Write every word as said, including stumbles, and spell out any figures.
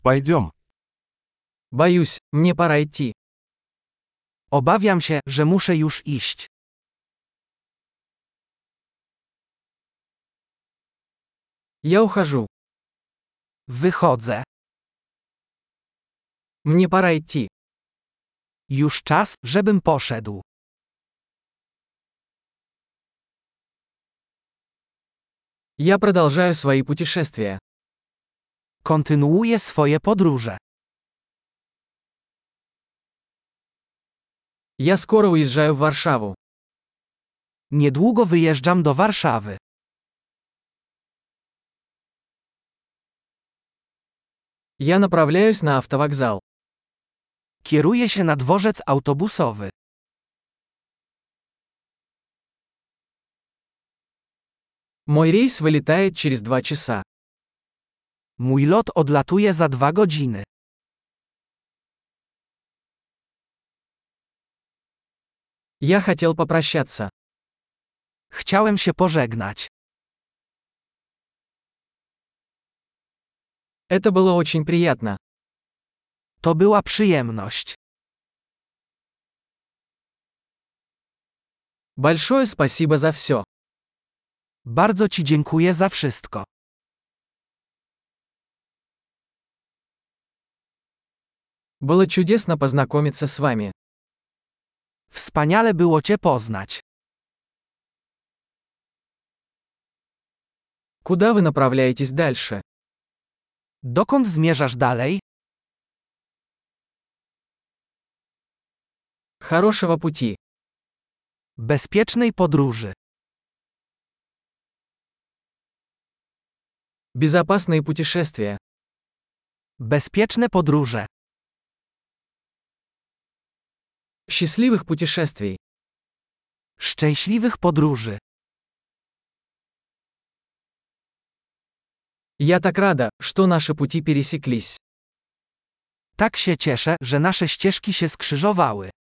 Пойдем. Боюсь, мне пора идти. Obawiam się, że muszę już iść. Я ухожу. Wychodzę. Мне пора идти. Już czas, żebym poszedł. Я продолжаю свои путешествия. Kontynuuję swoje podróże. Я скоро уезжаю в Варшаву. Niedługo wyjeżdżam do Warszawy. Я направляюсь на автовокзал. Kieruję się na dworzec autobusowy. Мой рейс вылетает через два часа. Mój lot odlatuje za dwa godziny. Я хотел попрощаться. Chciałem się pożegnać. Это было очень приятно. To była przyjemność. Большое спасибо за все. Bardzo Ci dziękuję za wszystko. Было чудесно познакомиться с вами. Wspaniale było Cię poznać. Куда вы направляетесь дальше? Dokąd zmierzasz dalej? Хорошего пути. Bezpiecznej podróży. Безопасные путешествия. Bezpieczne podróże. Счастливых путешествий. Szczęśliwych podróży. Я так рада, что наши пути пересеклись. Tak się cieszę, że nasze ścieżki się skrzyżowały.